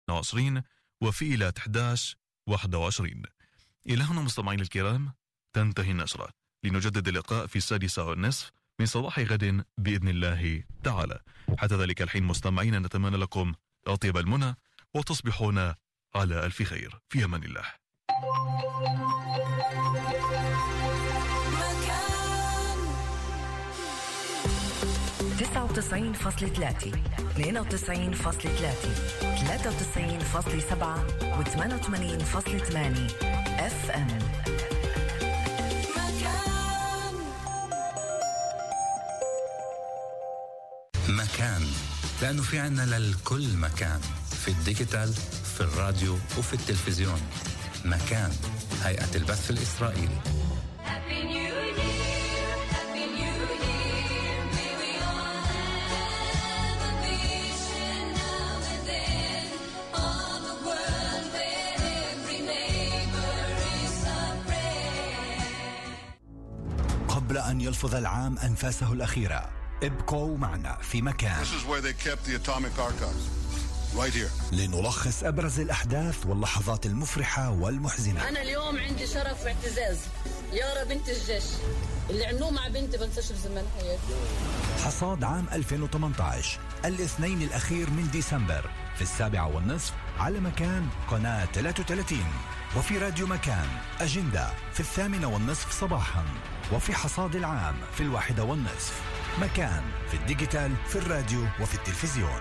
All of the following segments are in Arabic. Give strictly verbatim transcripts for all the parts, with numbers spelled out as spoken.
وعشرين وفي إلى أحد عشر واحد وعشرين. إلى هنا مستمعين الكرام تنتهي النشرة، لنجدد اللقاء في السادسة والنصف من صباح غد بإذن الله تعالى. حتى ذلك الحين مستمعين نتمنى لكم أطيب المنى وتصبحون على ألف خير، في أمان الله. تسعة وتسعين فاصلة ثلاثة اثنين وتسعين فاصلة ثلاثة ثلاثة وتسعين فاصلة سبعة وثمانية وثمانين فاصلة ثمانية اف ام. مكان، لأنه في عنا للكل مكان، في الديجيتال، في الراديو وفي التلفزيون. مكان، هيئة البث الإسرائيلي. قبل أن يلفظ العام أنفاسه الأخيرة، ابقوا معنا في مكان. This is where they kept the atomic archives. Right here. لنلخص أبرز الأحداث واللحظات المفرحة والمحزنة. أنا اليوم عندي شرف واعتزاز، يارا بنت الجيش اللي عملوه مع بنتي بنساش بزمن حياتي. حصاد عام ألفين وثمانية عشر الاثنين الأخير من ديسمبر في السابعة والنصف على مكان قناة ثلاثة وثلاثين، وفي راديو مكان أجندة في الثامنة والنصف صباحا، وفي حصاد العام في الواحدة والنصف. مكان في الديجيتال، في الراديو وفي التلفزيون.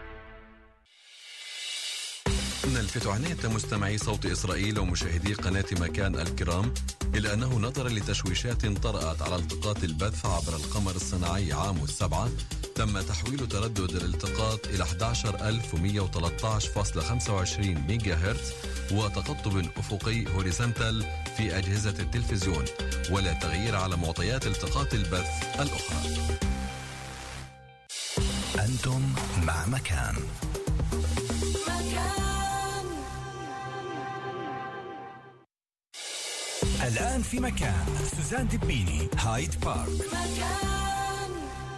نلفت عناية مستمعي صوت إسرائيل ومشاهدي قناة مكان الكرام إلى أنه نظرا لتشويشات طرأت على التقاط البث عبر القمر الصناعي عام السبعة، تم تحويل تردد الالتقاط إلى أحد عشر ألف ومئة وثلاثة عشر فاصلة خمسة وعشرين ميجا هرتز وتقطب أفقي هوريزونتال في أجهزة التلفزيون، ولا تغيير على معطيات التقاط البث الأخرى. أنتم مع مكان. الآن في مكان سوزان دبيني، هايد بارك. مكان.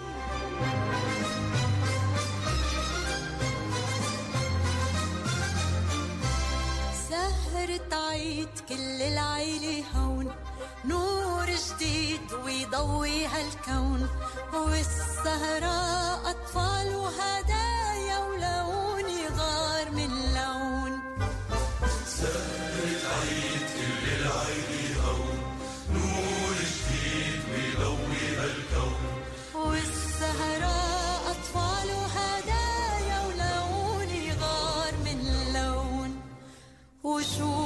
سهرة عيد كل العيلة هون، نور جديد ويضوي هالكون، والسهرة أطفال وهدايا ولون يغار من لون. سهرة عيد كل العيلة هون، نور جديد ويضوي هالكون، والسهرة أطفال وهدايا ولون يغار من لون. وشو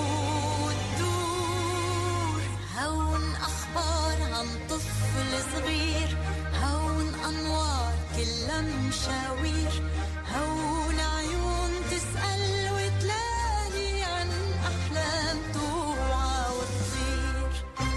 الدور هون أخبار عن طفل صغير، هون أنوار كلها مشاوير، هون عيون تسأل وتلاقي عن أحلام توعى وتطير.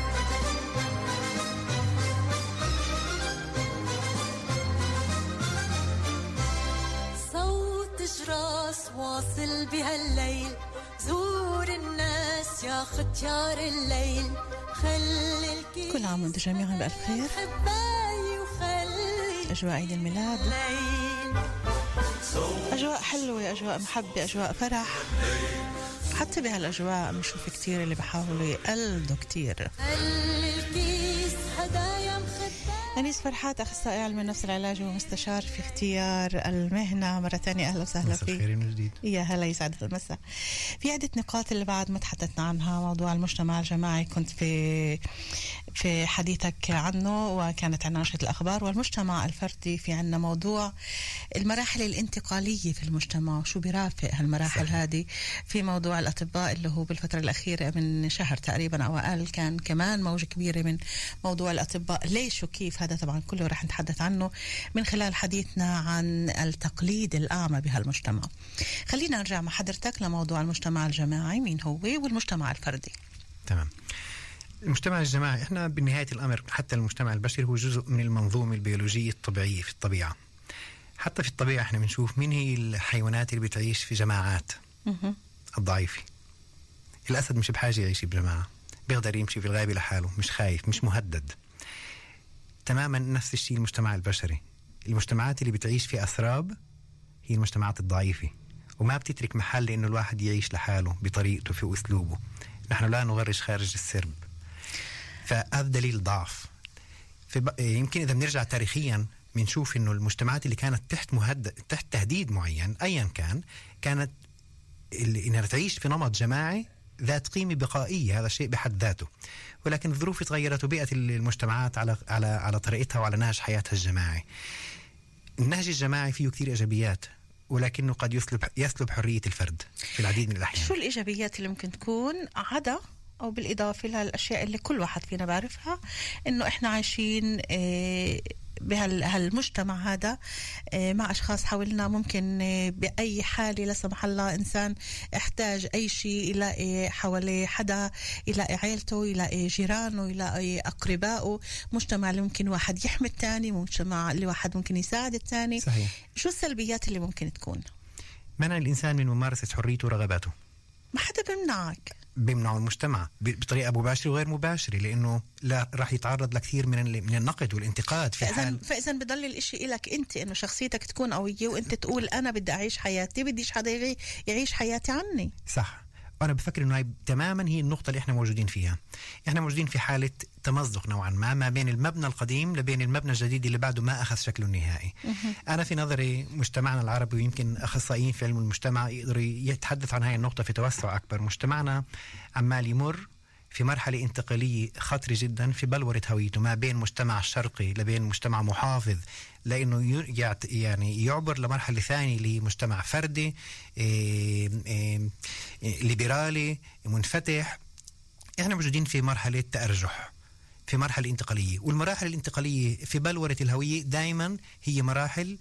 صوت جراس واصل بهالليل، زور الناس يا ختيار الليل، خلي الكل. كل عام وانتم جميعا بألف خير. أجواء عيد الميلاد، أجواء حلوة، أجواء محبة، أجواء فرح. حتى بهالأجواء بنشوف كتير اللي بحاولوا يقلدوا كتير. أنيس فرحات، أخصائي علم النفس العلاجي ومستشار في اختيار المهنة. مرة تانية أهلا وسهلا فيك. خير من جديد. يا هلا، يسعد المساء. في عدة نقاط اللي بعد ما تحدثنا عنها، موضوع المجتمع الجماعي كنت في في حديثك عنه، وكانت عنا نشرة الأخبار. والمجتمع الفردي في عنا موضوع المراحل الانتقالية في المجتمع وشو بيرافق هالمراحل هذه. في موضوع الأطباء اللي هو بالفترة الأخيرة من شهر تقريبا أو أقل كان كمان موجة كبيرة من موضوع الأطباء. ليش وكيف؟ هذا طبعا كله رح نتحدث عنه من خلال حديثنا عن التقليد الأعمى بهالمجتمع. خلينا نرجع مع حضرتك لموضوع المجتمع الجماعي، مين هو والمجتمع الفردي. تمام. المجتمع الجماعي، احنا بنهاية الأمر حتى المجتمع البشري هو جزء من المنظومة البيولوجية الطبيعية في الطبيعة. حتى في الطبيعة احنا بنشوف مين هي الحيوانات اللي بتعيش في جماعات. م- الضعيفة. الأسد مش بحاجة يعيش بجماعة، بيقدر يمشي في الغابة لحاله، مش خايف، مش مهدد. تماما نفس الشيء المجتمع البشري. المجتمعات اللي بتعيش في أسراب هي المجتمعات الضعيفة، وما بتترك محل إنه الواحد يعيش لحاله بطريقته في أسلوبه. نحن لا نغرش خارج السرب، فهذا دليل ضعف. يمكن إذا بنرجع تاريخيا بنشوف إنه المجتمعات اللي كانت تحت مهدد تحت تهديد معين أيا كان، كانت إنها تعيش في نمط جماعي ذات قيمة بقائية، هذا شيء بحد ذاته. ولكن الظروف تغيرت وبيئت المجتمعات على على على طريقتها وعلى نهج حياتها الجماعي. النهج الجماعي فيه كثير إيجابيات، ولكنه قد يسلب يسلب حرية الفرد في العديد من الأحيان. شو الإيجابيات اللي ممكن تكون عدا أو بالإضافة للأشياء اللي كل واحد فينا بعرفها، إنه إحنا عايشين بهالمجتمع هذا مع أشخاص حولنا، ممكن بأي حالة لا سمح الله إنسان احتاج أي شيء يلاقي حواليه حدا، يلاقي عيلته، يلاقي جيرانه، يلاقي أقربائه. مجتمع اللي ممكن واحد يحمي الثاني، مجتمع اللي واحد ممكن يساعد الثاني. صحيح. شو السلبيات اللي ممكن تكون؟ منع الإنسان من ممارسة حريته ورغباته. ما حدا بيمنعك، بيمنعوا المجتمع بطريقة مباشرة وغير مباشرة، لأنه لا راح يتعرض لكثير من من النقد والانتقاد في حال. فإذا بضل الإشي إلك أنت، إنه شخصيتك تكون قوية وأنت تقول أنا بدي أعيش حياتي، بديش حدا يعيش حياتي عني. صح. أنا بفكر إنه هاي تماما هي النقطة اللي إحنا موجودين فيها. إحنا موجودين في حالة تمزق نوعا ما ما بين المبنى القديم لبين المبنى الجديد اللي بعده ما أخذ شكله النهائي. أنا في نظري مجتمعنا العربي، ويمكن أخصائيين في علم المجتمع يقدروا يتحدث عن هاي النقطة في توسع أكبر. مجتمعنا عمال يمر في مرحلة انتقالية خطرة جدا في بلورة هويته، ما بين مجتمع شرقي لبين مجتمع محافظ، لأنه يعني يعبر لمرحلة ثانية لمجتمع فردي إيه إيه ليبرالي منفتح. احنا موجودين في مرحلة تأرجح، في مرحلة انتقالية، والمراحل الانتقالية في بلورة الهوية دائما هي مراحل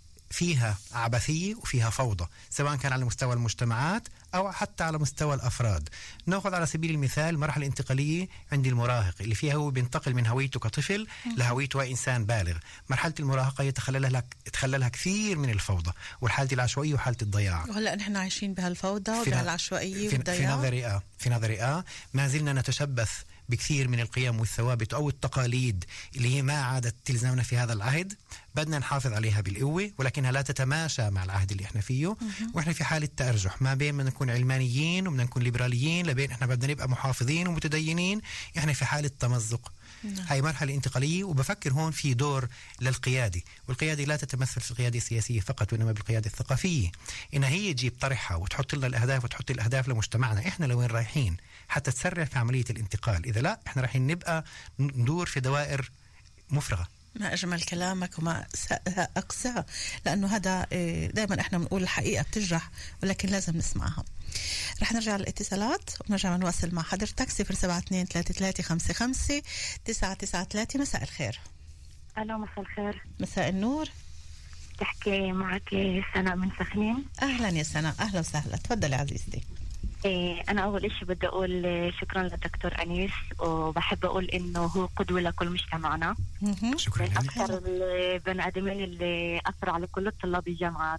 فيها عبثية وفيها فوضى، سواء كان على مستوى المجتمعات أو حتى على مستوى الأفراد. نأخذ على سبيل المثال مرحلة انتقالية عند المراهق اللي فيها هو بينتقل من هويته كطفل لهويته إنسان بالغ. مرحلة المراهقة يتخللها يتخللها كثير من الفوضى والحالة العشوائية وحالة الضياع. وهلا نحن عايشين بهالفوضى وبهالعشوائية والضياع. في نظري آه في نظري آه ما زلنا نتشبث بكثير من القيم والثوابت أو التقاليد اللي هي ما عادت تلزمنا في هذا العهد. بدنا نحافظ عليها بالقوة، ولكنها لا تتماشى مع العهد اللي احنا فيه. واحنا في حالة تأرجح ما بين بدنا نكون علمانيين وبدنا نكون ليبراليين، لبين احنا بدنا نبقى محافظين ومتدينين. احنا في حالة تمزق. نعم. هاي مرحلة انتقالية، وبفكر هون في دور للقيادة، والقيادة لا تتمثل في القيادة السياسية فقط، وإنما بالقيادة الثقافية، إنها هي تجيب طرحها وتحط لنا الأهداف وتحط الأهداف لمجتمعنا. إحنا لوين رايحين حتى تسرع في عملية الانتقال. إذا لا إحنا رايحين نبقى ندور في دوائر مفرغة. ما أجمل كلامك وما أقسى، لأنه هذا دائما إحنا بنقول الحقيقة بتجرح، ولكن لازم نسمعها. رح نرجع للاتصالات ونرجع نواصل مع حضرتك. صفر سبعة اثنين ثلاثة ثلاثة خمسة خمسة تسعة تسعة ثلاثة. مساء الخير. ألو، مساء الخير. مساء النور. تحكي معك سناء من سخنين. أهلا يا سناء، أهلا وسهلا، تفضلي عزيزتي. إيه، أنا أول إشي بدي أقول شكرا للدكتور أنيس، وبحب أقول إنه هو قدوة لكل مجتمعنا. شكرا. من أكثر البني آدمين اللي أثر على كل الطلاب الجامعات.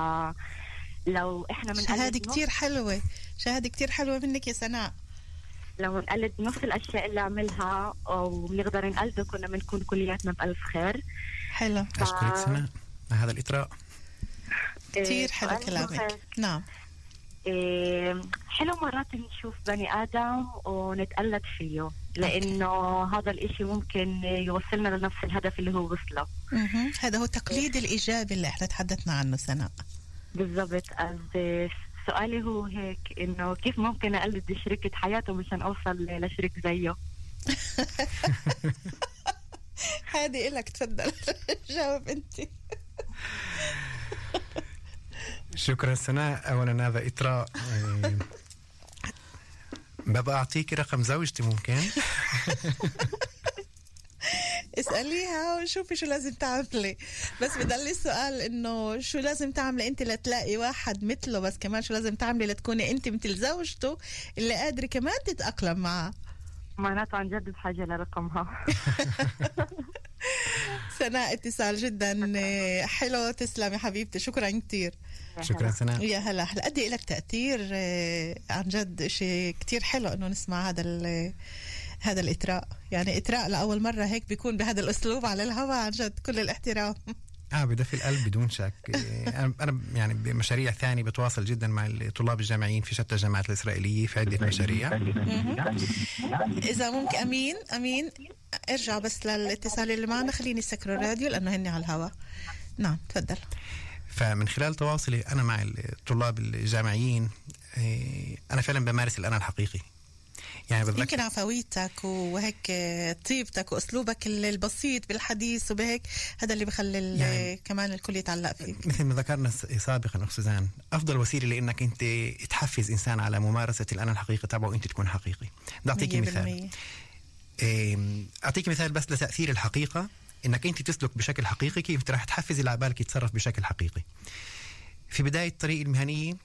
فلو إحنا من شهادة كتير حلوة، شهادة كتير حلوة منك يا سناء. لو نقلد نفس الأشياء اللي عملها ونقدر نقلده كنا بنكون كلياتنا بألف خير. حلو. ف... أشكرك سناء هذا الإطراء. كتير حلو كلامك. نعم. إيه، حلو مرات نشوف بني آدم ونتقلد فيه، لأنه هذا الإشي ممكن يوصلنا لنفس الهدف اللي هو وصله. هذا هو التقليد الإيجابي اللي احنا تحدثنا عنه سناء. بالضبط. سؤالي هو هيك، إنه كيف ممكن أقلد شريكة حياته مشان أوصل لشريك زيه؟ هذه إلك، تفضل جاوب أنت. شكرا سناء. أولا هذا إطراء. ببقى أعطيك رقم زوجتي ممكن؟ اسأليها وشوفي شو لازم تعملي. بس بدل السؤال إنه شو لازم تعملي أنت لتلاقي واحد مثله، بس كمان شو لازم تعملي لتكوني أنت مثل زوجته اللي قادرة كمان تتأقلم معه. معناته عن جد بحاجة لرقمها. سناء اتصال جدا حلو، تسلمي حبيبتي، شكرا كتير. شكرا سناء. يا هلا هلا. قد ايه لك تأثير عن جد، شيء كتير حلو انه نسمع هذا هذا الإطراء. يعني إطراء لأول مرة هيك بيكون بهذا الأسلوب على الهواء، عن جد كل الاحترام. اه بدفي القلب بدون شك. انا انا يعني بمشاريع ثانيه بتواصل جدا مع الطلاب الجامعيين في شتى الجامعات الاسرائيليه في عده مشاريع. اذا ممكن امين امين ارجع بس للاتصال اللي معنا، خليني سكر الراديو لانه هني على الهواء. نعم تفضل. فمن خلال تواصلي انا مع الطلاب الجامعيين انا فعلا بمارس الانا الحقيقي. يعني يمكن عفويتك وهيك طيبتك واسلوبك البسيط بالحديث وبهيك هذا اللي بخلي يعني كمان الكل يتعلق فيك. مثل ما ذكرنا سابقا اخت سوزان، افضل وسيله لانك انت تحفز انسان على ممارسه الانا الحقيقي تبعه وانت تكون حقيقي. بدي اعطيك مثال. اعطيك مثال بس لتاثير الحقيقه، انك انت تسلك بشكل حقيقي كيف راح تحفز اللي على بالك يتصرف بشكل حقيقي. في بدايه طريقي المهنيه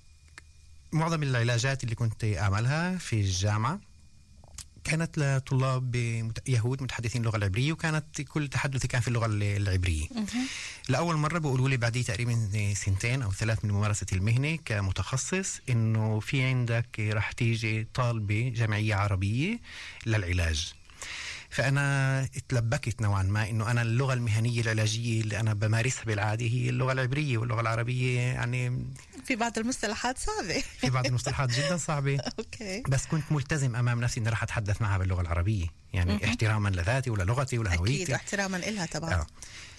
معظم العلاجات اللي كنت أعملها في الجامعة كانت لطلاب يهود متحدثين اللغة العبرية، وكانت كل تحدثي كان في اللغة العبرية. لأول مرة بيقولوا لي بعد تقريبا سنتين أو ثلاث من ممارسة المهنة كمتخصص إنه في عندك رح تيجي طالبة جمعية عربية للعلاج. فأنا اتلبكت نوعا ما إنه أنا اللغة المهنية العلاجية اللي أنا بمارسها بالعادة هي اللغة العبرية، واللغة العربية يعني في بعض المصطلحات صعبة في بعض المصطلحات جدا صعبة. أوكي. بس كنت ملتزم أمام نفسي إني راح أتحدث معها باللغة العربية، يعني م- احتراما لذاتي وللغتي ولهويتي. أكيد احتراما إلها طبعا. آه.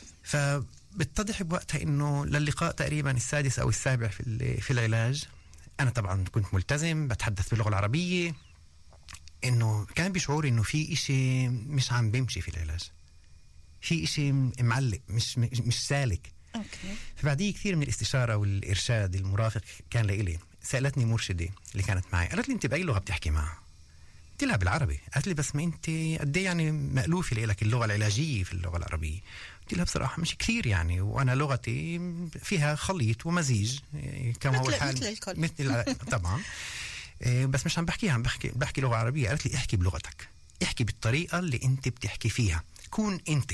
فبتضح بوقتها إنه للقاء تقريبا السادس أو السابع في في العلاج أنا طبعا كنت ملتزم بتحدث باللغة العربية، إنه كان بشعور إنه في إشي مش عم بيمشي في العلاج، في إشي معلق مش مش سالك. أوكي. فبعديه كثير من الاستشارة والإرشاد المرافق كان لإلي. سألتني مرشدة اللي كانت معي، قالت لي أنت بأي لغة بتحكي معها؟ قلت لها بالعربي. قالت لي بس ما أنت قد إيه يعني مألوفة لك اللغة العلاجية في اللغة العربية؟ قلت لها بصراحة مش كثير يعني، وأنا لغتي فيها خليط ومزيج كما هو الحال مثل الكل. مثل طبعا. بس مش عم بحكيها، عم بحكي بحكي لغة عربية. قالت لي احكي بلغتك، احكي بالطريقة اللي انت بتحكي فيها، كون انت.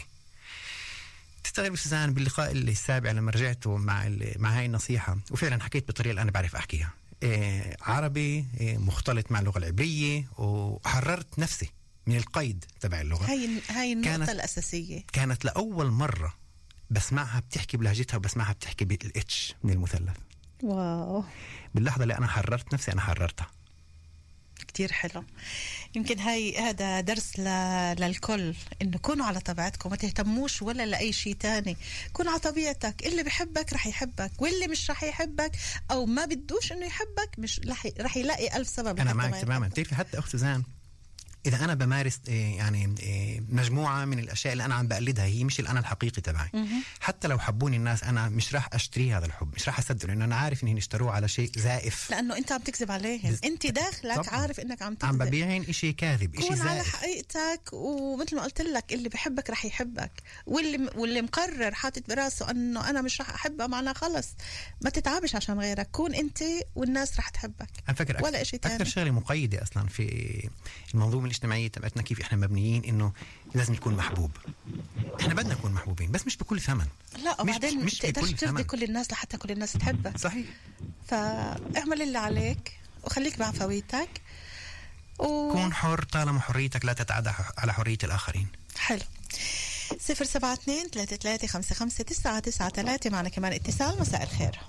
تستغرب سوزان باللقاء السابع لما رجعت مع مع هاي النصيحة وفعلا حكيت بالطريقة اللي أنا بعرف أحكيها، إيه عربي إيه مختلط مع اللغة العبرية، وحررت نفسي من القيد تبع اللغة. هاي هاي النقطة الأساسية. كانت لأول مرة بسمعها بتحكي بلهجتها وبسمعها بتحكي بالإتش من المثلث. واو. باللحظة اللي أنا حررت نفسي أنا حررتها. كتير حلو. يمكن هاي هذا درس ل... للكل، إنه كونوا على طبيعتكم، ما تهتموش ولا لأي شيء تاني. كون على طبيعتك، اللي بيحبك رح يحبك، واللي مش رح يحبك أو ما بدوش إنه يحبك مش رح رح يلاقي ألف سبب. أنا معك تماما. تعرفي حتى أخت سوزان إذا أنا بمارس يعني مجموعة من الأشياء اللي أنا عم بقلدها هي مش الأنا الحقيقي تبعي، حتى لو حبوني الناس أنا مش راح أشتري هذا الحب، مش راح أصدق، لأنه أنا عارف إنهم اشتروه على شيء زائف، لأنه أنت عم تكذب عليهم. بز... أنت داخلك طبعا. عارف إنك عم تكذب، عم ببيعين إشي كاذب، إشي زائف. كون على حقيقتك، ومثل ما قلت لك اللي بحبك رح يحبك، واللي واللي مقرر حاطط براسه إنه أنا مش رح أحبها معنا خلص ما تتعبش عشان غيرك، كون أنت والناس رح تحبك. أنا فكر ولا إشي تاني. أكثر شغلة مقيدة أصلا في المنظومة الاجتماعية تبعتنا كيف احنا مبنيين انه لازم نكون محبوب. احنا بدنا نكون محبوبين بس مش بكل ثمن. لا وبعدين مش تقدرش ترضي كل الناس لحتى كل الناس تحبك. صحيح. فاعمل اللي عليك وخليك بعفويتك و... كون حر طالما حريتك لا تتعدى على حرية الآخرين. حلو. صفر سبعة اثنين ثلاثة ثلاثة خمسة خمسة تسعة تسعة ثلاثة. معنا كمان اتصال. مساء الخير.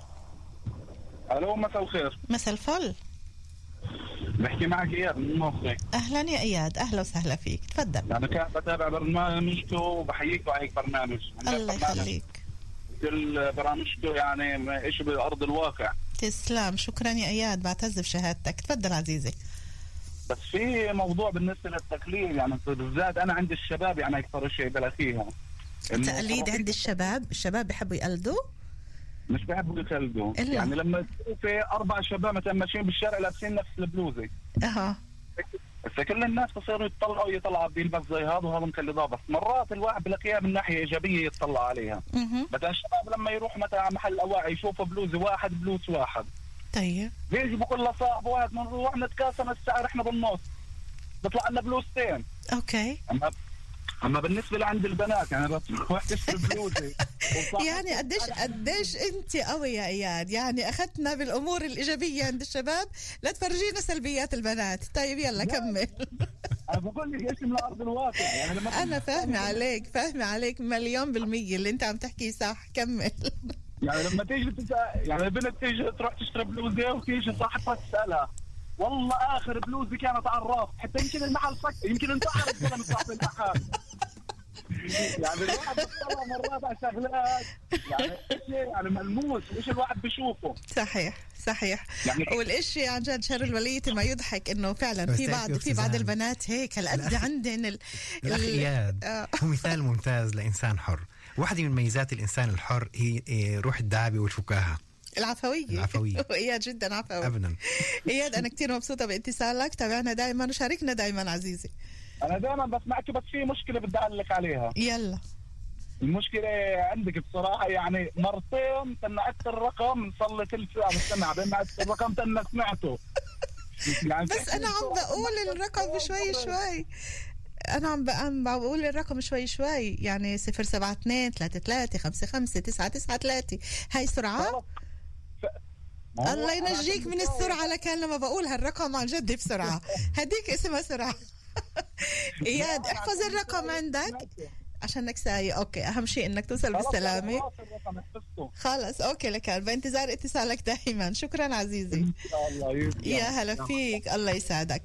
الو مساء الخير. مساء الفل. بحكي معك اياد من الموصي. اهلا يا اياد، اهلا وسهلا فيك، تفضل. انا كنت بتابع برنامجكم وبحييكم على هيك برنامج. الله يخليك. كل برامجكم يعني شيء بارض الواقع. تسلم، شكرا يا اياد، بعتز بشهادتك. تفضل عزيزي. بس في موضوع بالنسبه للتقليد، يعني بالذات انا عند الشباب يعني اكثر شيء بلا فيها التقليد. عند الشباب، الشباب بيحبوا يقلدوا، مش بيحبوا يقلدوا. يعني لما في اربع شباب مثلا ماشيين بالشارع لابسين نفس البلوزه اها بس كل الناس بصيروا يطلعوا يطلع بيلبس زي هذا وهذا مقلداه، بس مرات الواحد بلاقيها من ناحيه ايجابيه يطلع عليها. مثلا الشباب لما يروح مثلا على محل اواعي يشوفوا بلوزه واحد بلوز واحد، طيب بيجي بقول لصاحب واحد بنروح نتقاسم السعر احنا بالنص، بيطلع لنا بلوزتين. اوكي. اما اما بالنسبه لعند البنات يعني بتروح تشتري بلوزه يعني قديش قديش انت قوي يا اياد، يعني اخذتنا بالامور الايجابيه عند الشباب لا تفرجينا سلبيات البنات. طيب يلا كمل. انا بقول لك ايش من الارض الواقع يعني. لما انا فاهمه عليك فاهمه عليك مليون بالمية اللي انت عم تحكيه صح. كمل. يعني لما تيجي تسأل يعني البنت تيجي تروح تشتري بلوزه وتيجي صاحبتها تسالها والله اخر بلوزه كانت على الراس، حتى يمكن المحل سك يمكن انتحرت زلمه صاحب المحل. يعني الواحد بيطلع مرات على شغلات يعني شيء يعني ملموس وايش الواحد بيشوفه. صحيح صحيح يعني والاشي عن جد شر الولية ما يضحك انه فعلا في بعض في بعض البنات هيك هالقد عندهن ال... الاخ اياد آه. هو مثال ممتاز لانسان حر. واحدة من ميزات الانسان الحر هي روح الدعابة والفكاهة العفوية. العفوية. وإياد جدا عفوي. ابدا. إياد انا كتير مبسوطة باتصالك، تابعنا دائما وشاركنا دائما عزيزي. انا دائما بسمعك بس في مشكله بدي اقول عليها. يلا. المشكله عندك بصراحه يعني مرتين سمعت الرقم صار لي ثلث ساعه بستمع سمعت الرقم تنا سمعته يعني بس انا عم بقول الرقم شوي شوي انا عم عم بقول الرقم شوي شوي يعني صفر سبعة اثنين ثلاثة ثلاثة خمسة خمسة تسعة تسعة ثلاثة. هاي سرعه. الله ينجيك من السرعه لكان لما بقول هالرقم عن جد بسرعه هديك اسمها سرعه. اياد احفظ الرقم عندك عشانك سايق. اوكي اهم شيء انك توصل بالسلامه. خلص اوكي لك بانتظار اتصالك دائما. شكرا عزيزي. يا هلا فيك الله يسعدك.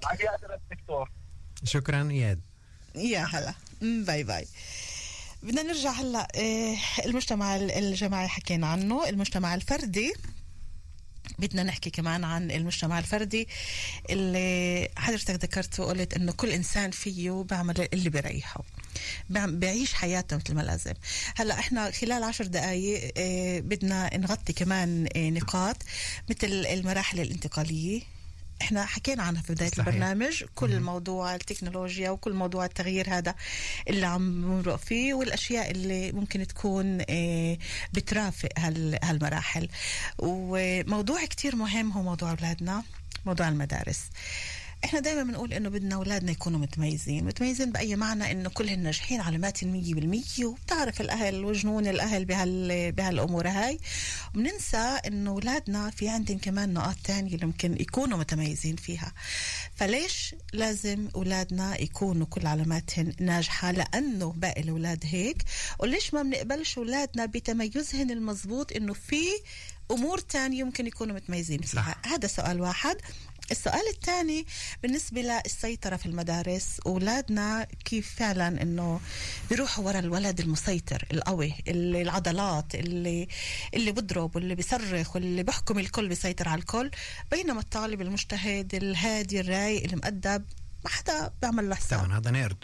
شكرا اياد. يا هلا باي باي. بدنا نرجع هلا. المجتمع الجماعي حكينا عنه. المجتمع الفردي بدنا نحكي كمان عن المجتمع الفردي اللي حضرتك ذكرت وقلت انه كل انسان فيه بعمل اللي بيريحه بيعيش حياته مثل ما لازم. هلا احنا خلال عشر دقائق اه بدنا نغطي كمان اه نقاط مثل المراحل الانتقالية. احنا حكينا عنها في بداية صحيح. البرنامج كل م- موضوع التكنولوجيا وكل موضوع التغيير هذا اللي عم نمرق فيه والاشياء اللي ممكن تكون اه بترافق هالمراحل. وموضوع كتير مهم هو موضوع اولادنا، موضوع المدارس. احنا دايما بنقول انه بدنا اولادنا يكونوا متميزين. متميزين باي معنى؟ انه كلهم ناجحين علامات مية بالمية وبتعرف الاهل وجنون الاهل بهال بهالامور هاي. وبننسى انه اولادنا في عندهم كمان نقاط تانية اللي ممكن يكونوا متميزين فيها. فليش لازم اولادنا يكونوا كل علاماتهم ناجحة؟ لانه باقي الاولاد هيك. وليش ما بنقبلش اولادنا بتميزهم المضبوط انه في امور تانية يمكن يكونوا متميزين فيها؟ هذا سؤال واحد. السؤال الثاني بالنسبة للسيطرة في المدارس. أولادنا كيف فعلا إنه بيروحوا ورا الولد المسيطر القوي اللي العضلات اللي اللي بضرب واللي بيصرخ واللي بيحكم الكل بيسيطر على الكل، بينما الطالب المجتهد الهادي الرايق المؤدب ما حدا بيعمل له حساب. طبعا هذا نيرد.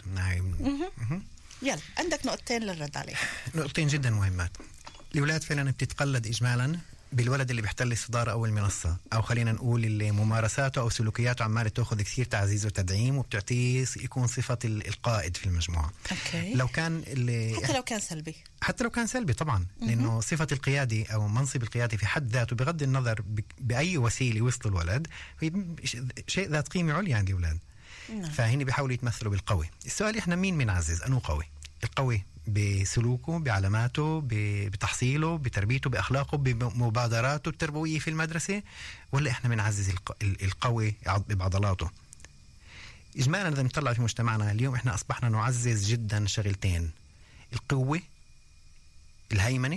يلا عندك نقطتين للرد عليه. نقطتين جدا مهمات. الأولاد فعلا بتتقلد إجمالا بالولد اللي بيحتل الصدارة أو المنصة، أو خلينا نقول اللي ممارساته أو سلوكياته عمالة تأخذ كثير تعزيز وتدعيم وبتعطيه يكون صفة القائد في المجموعة. أوكي. لو كان اللي حتى لو كان سلبي حتى لو كان سلبي طبعا، لأنه صفة القيادي أو منصب القيادي في حد ذاته بغض النظر بأي وسيلة وصل الولد شيء ذات قيمة عليا عند الأولاد. فهني بيحاولوا يتمثلوا بالقوي. السؤال إحنا مين بنعزز؟ أنه قوي؟ القوي بسلوكه، بعلاماته، بتحصيله، بتربيته، بأخلاقه، بمبادراته التربوية في المدرسة، ولا إحنا بنعزز القوي بعضلاته؟ إجمالا إذا نطلع في مجتمعنا اليوم إحنا أصبحنا نعزز جدا شغلتين: القوة، الهيمنة،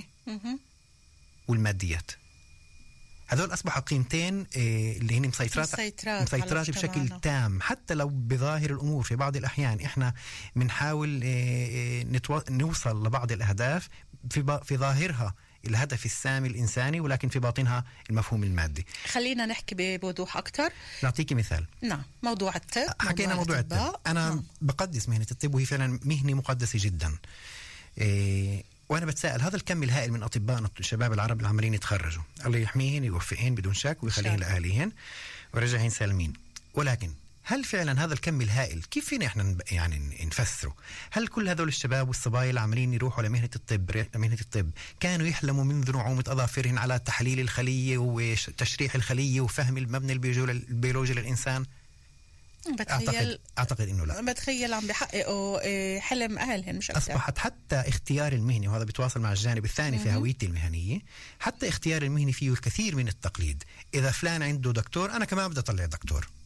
والماديات. هذول أصبحوا قيمتين اللي هن مسيطرات مسيطرات, مسيطرات بشكل تام. حتى لو بظاهر الأمور في بعض الأحيان إحنا بنحاول نتو... نوصل لبعض الأهداف في, ب... في ظاهرها الهدف السامي الإنساني، ولكن في باطنها المفهوم المادي. خلينا نحكي بوضوح أكتر. نعطيك مثال. نعم، موضوع الطب. حكينا موضوع الطب. أنا نعم. بقدس مهنة الطب وهي فعلا مهنة مقدسة جدا. إيه... وأنا بتساءل هذا الكم الهائل من أطبائنا الشباب العرب اللي عمالين يتخرجوا، الله يحميهن يوفقهن بدون شك ويخليهن لأهليهن ويرجعهن سالمين، ولكن هل فعلا هذا الكم الهائل كيف فينا إحنا يعني نفسره؟ هل كل هذول الشباب والصبايا اللي عمالين يروحوا لمهنة الطب مهنة الطب كانوا يحلموا منذ نعومة أظافرهن على تحليل الخلية وتشريح الخلية وفهم المبنى البيولوجي للإنسان؟ بتخيل أعتقد, أعتقد إنه لا. بتخيل عم بيحققوا حلم أهلهم مش أكثر. أصبحت حتى اختيار المهني، وهذا بيتواصل مع الجانب الثاني في هويتي المهنية، حتى اختيار المهني فيه الكثير من التقليد. إذا فلان عنده دكتور أنا كمان بدي أطلع دكتور.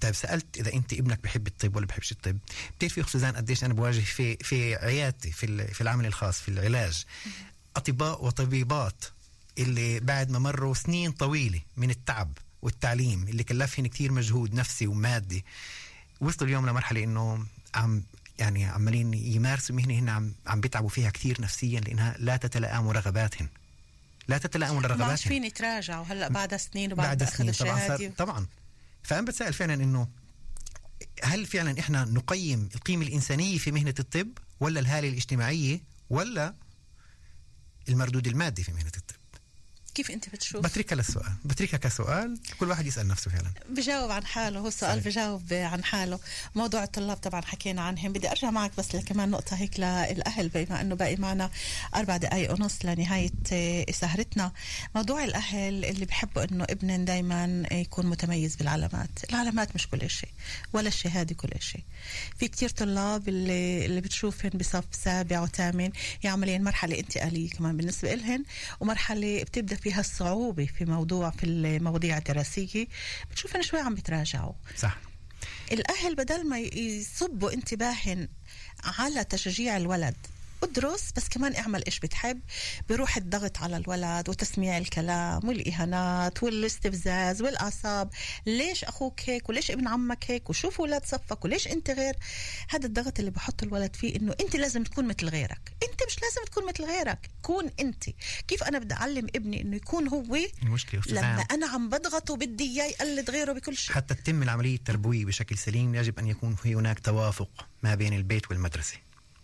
طيب سألت إذا أنت ابنك بحب الطب ولا بحبش الطب. بتعرفي أخت سوزان قديش أنا بواجه في في عيادتي في في العمل الخاص في العلاج أطباء وطبيبات اللي بعد ما مروا سنين طويلة من التعب والتعليم اللي كلفهن كتير مجهود نفسي ومادي، وصلوا اليوم لمرحلة إنه عم يعني عمالين يمارسوا مهنة هن عم عم بيتعبوا فيها كتير نفسيا لأنها لا تتلائم رغباتهن لا تتلائم رغباتهن. ما فين يتراجعوا هلا بعد سنين وبعد بعد أخذ سنين طبعا الشهادة. طبعا. فأنا بتسأل فعلا إنه هل فعلا إحنا نقيم القيمة الإنسانية في مهنة الطب ولا الهالة الاجتماعية ولا المردود المادي في مهنة الطب؟ كيف أنت بتشوف؟ بتركها للسؤال، بتركها كسؤال كل واحد يسأل نفسه فعلا. بجاوب عن حاله، هو السؤال بجاوب عن حاله. موضوع الطلاب طبعا حكينا عنهم، بدي أرجع معك بس لكمان نقطة هيك للأهل بما أنه باقي معنا أربع دقايق ونص لنهاية سهرتنا. موضوع الأهل اللي بحبوا أنه ابنهم دايما يكون متميز بالعلامات. العلامات مش كل شيء ولا الشهادة كل شيء. في كتير طلاب اللي, اللي بتشوفهم بصف سابع وثامن يعملين مرحلة انتقالية كمان بالنسبة لهن، ومرحلة بتبدأ فيها الصعوبة في موضوع في المواضيع الدراسية، بتشوفن شوي عم بتراجعوا. صح. الأهل بدل ما يصبوا انتباهن على تشجيع الولد ادرس بس كمان اعمل ايش بتحب، بيروح الضغط على الولد وتسميع الكلام والإهانات والاستفزاز والأعصاب. ليش أخوك هيك وليش ابن عمك هيك وشوف ولاد صفك وليش انت غير. هذا الضغط اللي بحط الولد فيه انه انت لازم تكون مثل غيرك. انت مش لازم تكون مثل غيرك، كون انت. كيف انا بدي اعلم ابني انه يكون هو المشكلة لما انا عم بضغطه بدي اياه يقلد غيره بكل شيء؟ حتى تتم العملية التربوية بشكل سليم يجب ان يكون في هناك توافق ما بين البيت والمدرسة.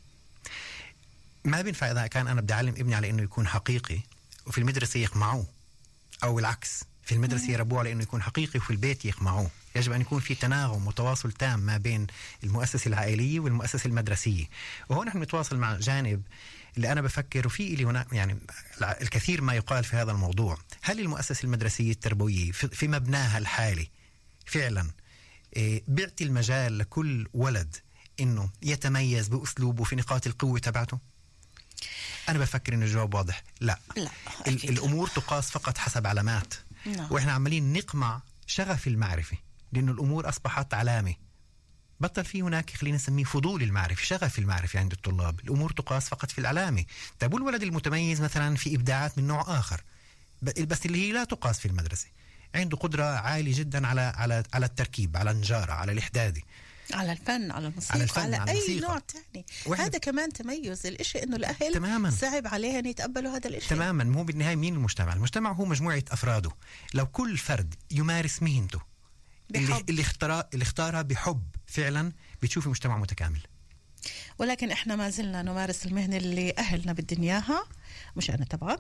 ما بينفع إذا كان أنا بدي أعلم ابني على إنه يكون حقيقي وفي المدرسة يقمعوه، أو العكس في المدرسة يربوه على إنه يكون حقيقي وفي البيت يقمعوه. يجب أن يكون في تناغم وتواصل تام ما بين المؤسسة العائلية والمؤسسة المدرسية. وهون نحن نتواصل مع جانب اللي أنا بفكر وفي اللي هنا يعني الكثير ما يقال في هذا الموضوع. هل المؤسسة المدرسية التربوية في مبناها الحالي فعلا بيعطي المجال لكل ولد إنه يتميز بأسلوبه في نقاط القوة تبعته؟ أنا بفكر إن الجواب واضح، لا, لا الأمور تقاس فقط حسب علامات. لا. وإحنا عمالين نقمع شغف المعرفة لأنه الأمور أصبحت علامة. بطل في هناك خلينا نسميه فضول المعرفة، شغف المعرفة عند الطلاب. الأمور تقاس فقط في العلامة. طيب الولد المتميز مثلا في إبداعات من نوع آخر بس اللي هي لا تقاس في المدرسة، عنده قدرة عالية جدا على على على التركيب، على النجارة، على الإحداد، على الفن، على الموسيقى، على, الفن، على, على أي الموسيقى. نوع تاني. هذا كمان تميز. الإشي إنه الأهل تماماً. صعب عليهم يتقبلوا هذا الإشي. تماما. مو بالنهاية مين المجتمع؟ المجتمع هو مجموعة أفراده. لو كل فرد يمارس مهنته اللي, اللي, اختار اللي اختارها بحب فعلا بتشوفي مجتمع متكامل. ولكن إحنا ما زلنا نمارس المهنة اللي أهلنا بدهم إياها، مش أنا طبعا،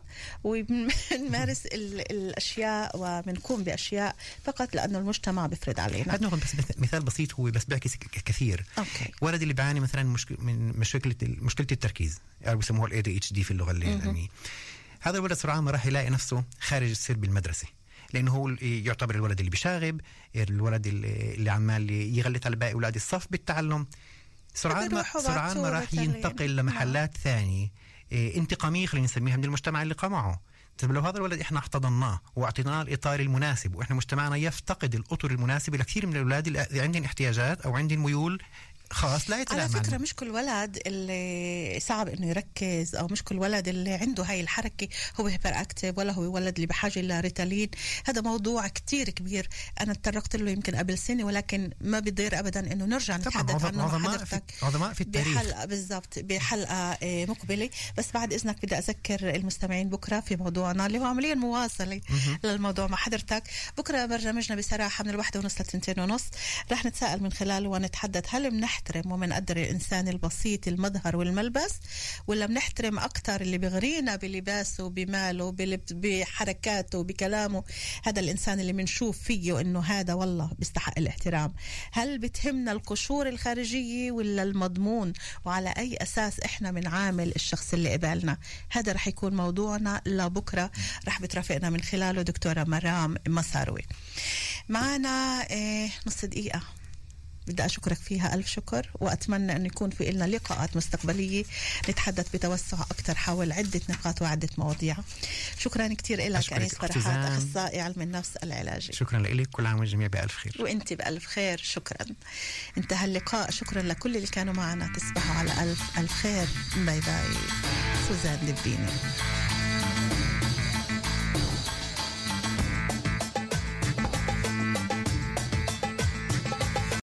ونمارس الأشياء وبنقوم بأشياء فقط لأنه المجتمع بيفرض علينا. عندنا بس مثال بسيط هو بس بحكي كثير. أوكي. ولد اللي بيعاني مثلا مشكلة من مشكلة مشكلة التركيز أو بيسموها ال إيه دي إتش دي في اللغة العلمية. هذا الولد سرعان ما راح يلاقي نفسه خارج السرب المدرسي، لأنه هو يعتبر الولد اللي بيشاغب، الولد اللي عمال يغلط على باقي أولاد الصف بالتعلم. سرعان ما سرعان ما راح ينتقل لمحلات ثانية انتقامية خلينا نسميها من المجتمع اللي قمعه. طيب لو هذا الولد احنا احتضناه واعطيناه الاطار المناسب، واحنا مجتمعنا يفتقد الاطر المناسبه لكثير من الاولاد اللي عندهم احتياجات او عندهم ميول خاص لا يتلائم. على فكرة مش كل ولد اللي صعب انه يركز، او مش كل ولد اللي عنده هاي الحركة هو هيبر اكتيف، ولا هو ولد اللي بحاجة لريتالين. هذا موضوع كتير كبير انا اتطرقت له يمكن قبل سنة، ولكن ما بيضير ابدا انه نرجع نتحدث عنه مع حضرتك عظماء في التاريخ بحلقة بالضبط بحلقة مقبلة. بس بعد اذنك بدي اذكر المستمعين بكرة في موضوعنا اللي هو عمليا مواصلة للموضوع مع حضرتك. بكرة برنامجنا بصراحة من الواحدة ونص للتنتين ونص رح نتساءل من خلاله ونتحدث هل بنحترم ومنقدر الإنسان البسيط المظهر والملبس، ولا بنحترم أكتر اللي بغرينا بلباسه بماله بحركاته بكلامه، هذا الإنسان اللي منشوف فيه إنه هذا والله بيستحق الاحترام. هل بتهمنا القشور الخارجية ولا المضمون، وعلى أي أساس إحنا بنعامل الشخص اللي قبالنا؟ هذا رح يكون موضوعنا لبكرة، رح بترافقنا من خلاله دكتورة مرام مساروي. معنا إيه نص دقيقة بدي أشكرك فيها ألف شكر، وأتمنى أن يكون في لنا لقاءات مستقبلية نتحدث بتوسع أكثر حول عدة نقاط وعدة مواضيع. شكرا كثير لك أنيس فرحات، أخصائي علم النفس العلاجي. شكرا لك، كل عام والجميع بألف خير. وأنت بألف خير. شكرا. انتهى اللقاء. شكرا لكل اللي كانوا معنا. تصبحوا على ألف ألف خير. باي باي. سوزان لبيني.